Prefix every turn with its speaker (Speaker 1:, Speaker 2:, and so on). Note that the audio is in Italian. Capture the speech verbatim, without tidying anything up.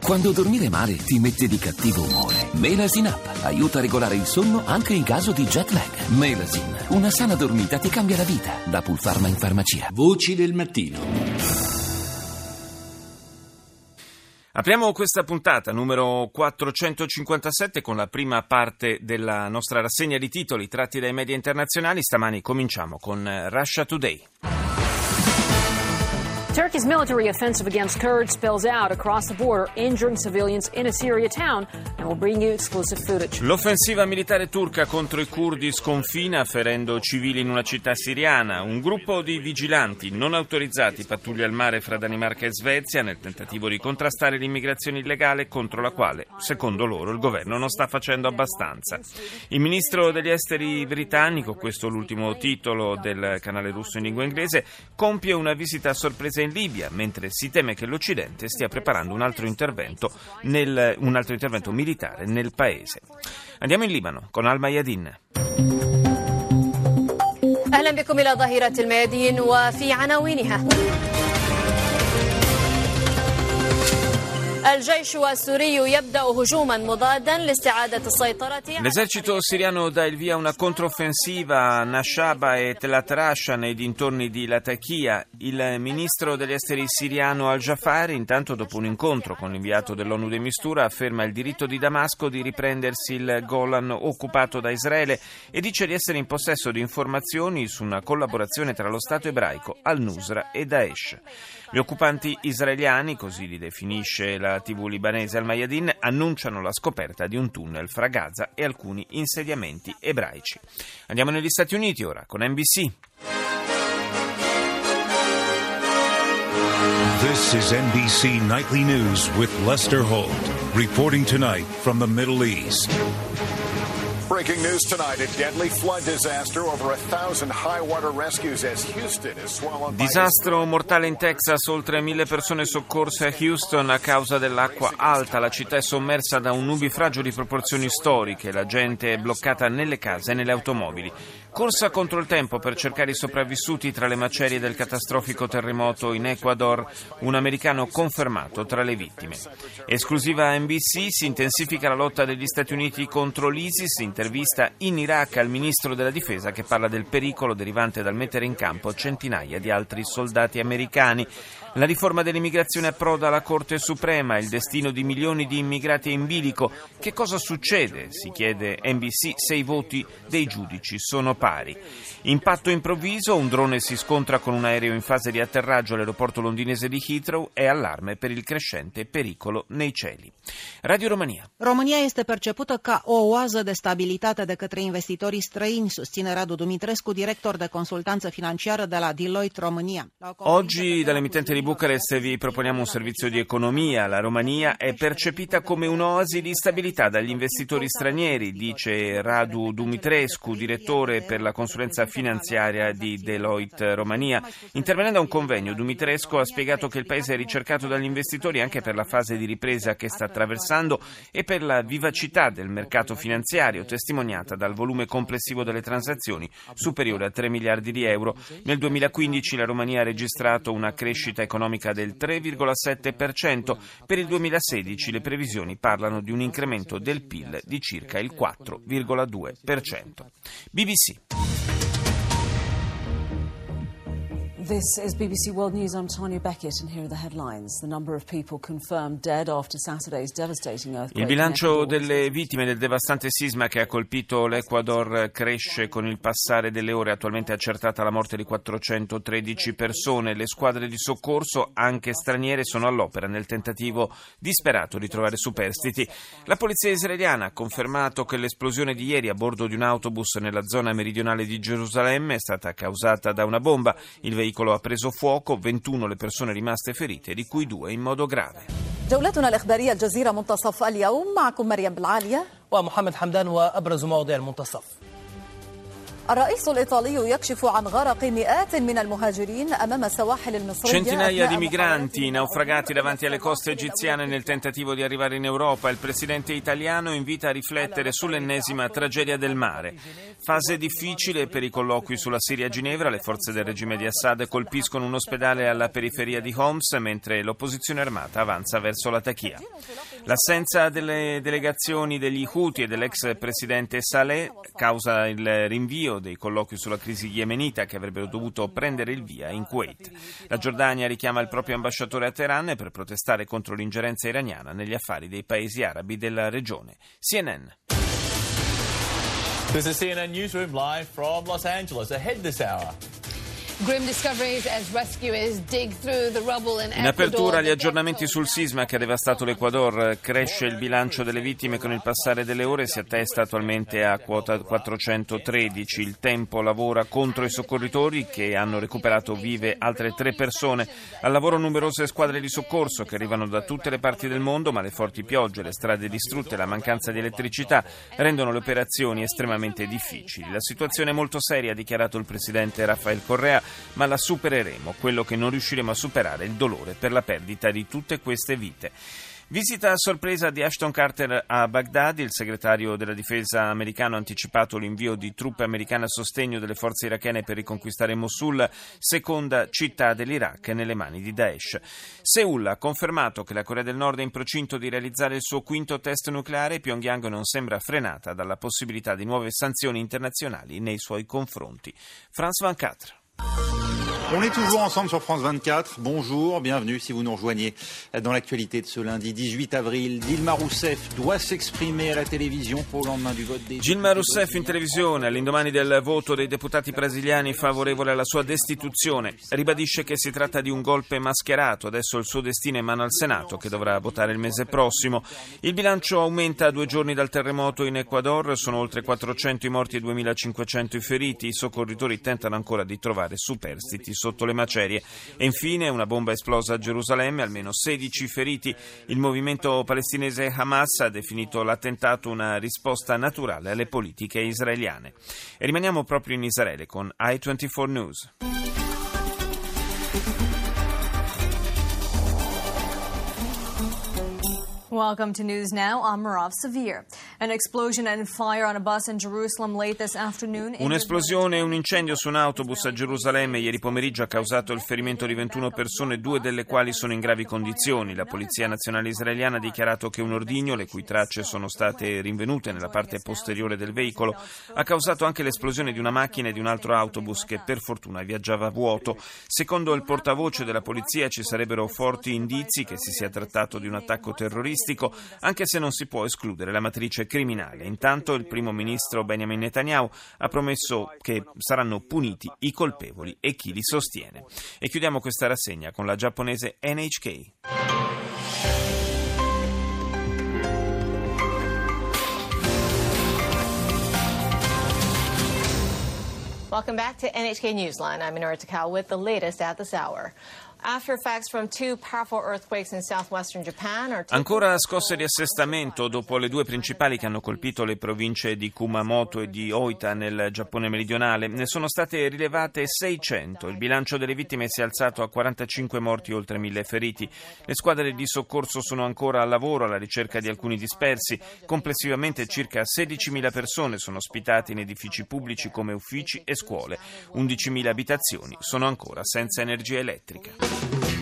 Speaker 1: Quando dormire male ti mette di cattivo umore. Melasin Up aiuta a regolare il sonno anche in caso di jet lag. Melasin, una sana dormita ti cambia la vita. Da Pulpharma in farmacia.
Speaker 2: Voci del mattino.
Speaker 3: Apriamo questa puntata numero quattrocentocinquantasette con la prima parte della nostra rassegna di titoli tratti dai media internazionali. Stamani cominciamo con Russia Today.
Speaker 4: Turkey's military offensive against Kurds spills out across the border, injuring civilians in a Syria town, and we'll bring you exclusive footage.
Speaker 3: L'offensiva militare turca contro i curdi sconfina, ferendo civili in una città siriana. Un gruppo di vigilanti non autorizzati pattuglia il mare fra Danimarca e Svezia nel tentativo di contrastare l'immigrazione illegale, contro la quale, secondo loro, il governo non sta facendo abbastanza. Il ministro degli esteri britannico, questo è l'ultimo titolo del canale russo in lingua inglese, compie una visita a sorpresa in Libia, mentre si teme che l'Occidente stia preparando un altro intervento nel, un altro intervento militare nel paese. Andiamo in Libano con Al Mayadin.
Speaker 5: أهلا بكم إلى ظهيرة الميادين وفي عناوينها.
Speaker 3: L'esercito siriano dà il via a una controffensiva a Nashaba e Tel Atrasha nei dintorni di Latakia. Il ministro degli esteri siriano Al-Jafari, intanto, dopo un incontro con l'inviato dell'ONU de Mistura, afferma il diritto di Damasco di riprendersi il Golan occupato da Israele e dice di essere in possesso di informazioni su una collaborazione tra lo Stato ebraico, Al-Nusra e Daesh. Gli occupanti israeliani, così li definisce la tivù libanese Al Mayadin, annunciano la scoperta di un tunnel fra Gaza e alcuni insediamenti ebraici. Andiamo negli Stati Uniti ora con N B C.
Speaker 6: This is N B C Nightly News with Lester Holt, reporting tonight from the Middle East.
Speaker 7: Breaking news tonight, a deadly flood disaster, over a thousand high water rescues as Houston is swallowed by...
Speaker 3: Disastro mortale in Texas, oltre mille persone soccorse a Houston a causa dell'acqua alta. La città è sommersa da un nubifragio di proporzioni storiche, la gente è bloccata nelle case e nelle automobili. Corsa contro il tempo per cercare i sopravvissuti tra le macerie del catastrofico terremoto in Ecuador, un americano confermato tra le vittime. Esclusiva N B C, si intensifica la lotta degli Stati Uniti contro l'ISIS, intervista in Iraq al ministro della difesa che parla del pericolo derivante dal mettere in campo centinaia di altri soldati americani. La riforma dell'immigrazione approda alla Corte Suprema, il destino di milioni di immigrati è in bilico. Che cosa succede, si chiede N B C, se i voti dei giudici sono pari? Impatto improvviso, un drone si scontra con un aereo in fase di atterraggio all'aeroporto londinese di Heathrow e allarme per il crescente pericolo nei cieli. Radio Romania.
Speaker 8: România este percepută ca o oază de stabilitate de către investitorii străini, susține Radu Dumitrescu, director de consultanță financiară de la Deloitte România.
Speaker 3: Oggi dall'emittente di Bucarest vi proponiamo un servizio di economia. La Romania è percepita come un'oasi di stabilità dagli investitori stranieri, dice Radu Dumitrescu, direttore per la consulenza finanziaria di Deloitte Romania. Intervenendo a un convegno, Dumitrescu ha spiegato che il paese è ricercato dagli investitori anche per la fase di ripresa che sta attraversando e per la vivacità del mercato finanziario, testimoniata dal volume complessivo delle transazioni, superiore a tre miliardi di euro. Nel duemilaquindici la Romania ha registrato una crescita economica del tre virgola sette per cento. Per il duemilasedici le previsioni parlano di un incremento del P I L di circa il quattro virgola due per cento. B B C.
Speaker 9: This is B B C World News. I'm Tanya Beckett and here are the headlines. The number of people confirmed dead after Saturday's devastating earthquake.
Speaker 3: Il bilancio delle vittime del devastante sisma che ha colpito l'Ecuador cresce con il passare delle ore. Attualmente è accertata la morte di quattrocentotredici persone. Le squadre di soccorso, anche straniere, sono all'opera nel tentativo disperato di trovare superstiti. La polizia israeliana ha confermato che l'esplosione di ieri a bordo di un autobus nella zona meridionale di Gerusalemme è stata causata da una bomba. Il veicolo ha preso fuoco, ventuno le persone rimaste ferite, di cui due in modo grave.
Speaker 5: جولتنا الإخبارية الجزيرة منتصف اليوم معكم مريم بالعالية
Speaker 10: ومحمد حمدان وأبرز مواضيع المنتصف.
Speaker 2: الرئيس الإيطالي يكشف عن غرق مئات من المهاجرين أمام السواحل المصرية.
Speaker 3: Centinaia di migranti naufragati davanti alle coste egiziane nel tentativo di arrivare in Europa. Il presidente italiano invita a riflettere sull'ennesima tragedia del mare. Fase difficile per i colloqui sulla Siria a Ginevra. Le forze del regime di Assad colpiscono un ospedale alla periferia di Homs, mentre l'opposizione armata avanza verso la Tachia. L'assenza delle delegazioni degli Houthi e dell'ex presidente Saleh causa il rinvio dei colloqui sulla crisi yemenita che avrebbero dovuto prendere il via in Kuwait. La Giordania richiama il proprio ambasciatore a Teheran per protestare contro l'ingerenza iraniana negli affari dei paesi arabi della regione. C N N.
Speaker 10: This is C N N Newsroom live from Los Angeles. Ahead this hour.
Speaker 11: Grim discoveries as rescuers dig through the rubble in Ecuador.
Speaker 3: In apertura gli aggiornamenti sul sisma che ha devastato l'Ecuador. Cresce il bilancio delle vittime con il passare delle ore, si attesta attualmente a quota quattrocentotredici. Il Tempo lavora contro i soccorritori che hanno recuperato vive altre tre persone. Al lavoro numerose squadre di soccorso che arrivano da tutte le parti del mondo, ma le forti piogge, le strade distrutte e la mancanza di elettricità rendono le operazioni estremamente difficili. La situazione è molto seria, ha dichiarato il presidente Rafael Correa, ma la supereremo. Quello che non riusciremo a superare è il dolore per la perdita di tutte queste vite. Visita a sorpresa di Ashton Carter a Baghdad. Il segretario della difesa americano ha anticipato l'invio di truppe americane a sostegno delle forze irachene per riconquistare Mosul, seconda città dell'Iraq nelle mani di Daesh. Seul ha confermato che la Corea del Nord è in procinto di realizzare il suo quinto test nucleare. Pyongyang non sembra frenata dalla possibilità di nuove sanzioni internazionali nei suoi confronti. France ventiquattro.
Speaker 12: On est toujours ensemble sur France vingt-quatre. Bonjour, bienvenue si vous nous rejoignez dans l'actualité de ce lundi dix-huit avril. Dilma Rousseff doit s'exprimer à la télévision pour le lendemain du vote des...
Speaker 3: Dilma Rousseff in televisione all'indomani del voto dei deputati brasiliani favorevole alla sua destituzione. Ribadisce che si tratta di un golpe mascherato. Adesso il suo destino è in mano al Senato che dovrà votare il mese prossimo. Il bilancio aumenta a due giorni dal terremoto in Ecuador. Sono oltre quattrocento i morti e duemilacinquecento i feriti. I soccorritori tentano ancora di trovare superstiti sotto le macerie. E infine una bomba esplosa a Gerusalemme, almeno sedici feriti. Il movimento palestinese Hamas ha definito l'attentato una risposta naturale alle politiche israeliane. E rimaniamo proprio in Israele con I ventiquattro News.
Speaker 13: Welcome to News Now. I'm Marav Savir. An explosion and fire on a bus in Jerusalem late this afternoon.
Speaker 3: Un'esplosione e un incendio su un autobus a Gerusalemme ieri pomeriggio ha causato il ferimento di ventuno persone, due delle quali sono in gravi condizioni. La Polizia Nazionale Israeliana ha dichiarato che un ordigno, le cui tracce sono state rinvenute nella parte posteriore del veicolo, ha causato anche l'esplosione di una macchina e di un altro autobus che per fortuna viaggiava a vuoto. Secondo il portavoce della polizia ci sarebbero forti indizi che si sia trattato di un attacco terroristico, anche se non si può escludere la matrice criminale. Intanto il primo ministro Benjamin Netanyahu ha promesso che saranno puniti i colpevoli e chi li sostiene. E chiudiamo questa rassegna con la giapponese N H K.
Speaker 14: Welcome back to N H K Newsline. I'm Minoru Takao with the latest at this hour. After effects from two powerful earthquakes in southwestern Japan are
Speaker 3: Ancora scosse di assestamento dopo le due principali che hanno colpito le province di Kumamoto e di Oita nel Giappone meridionale. Ne sono state rilevate seicento. Il bilancio delle vittime si è alzato a quarantacinque morti e oltre mille feriti. Le squadre di soccorso sono ancora al lavoro alla ricerca di alcuni dispersi. Complessivamente circa sedicimila persone sono ospitate in edifici pubblici come uffici e scuole. undicimila abitazioni sono ancora senza energia elettrica.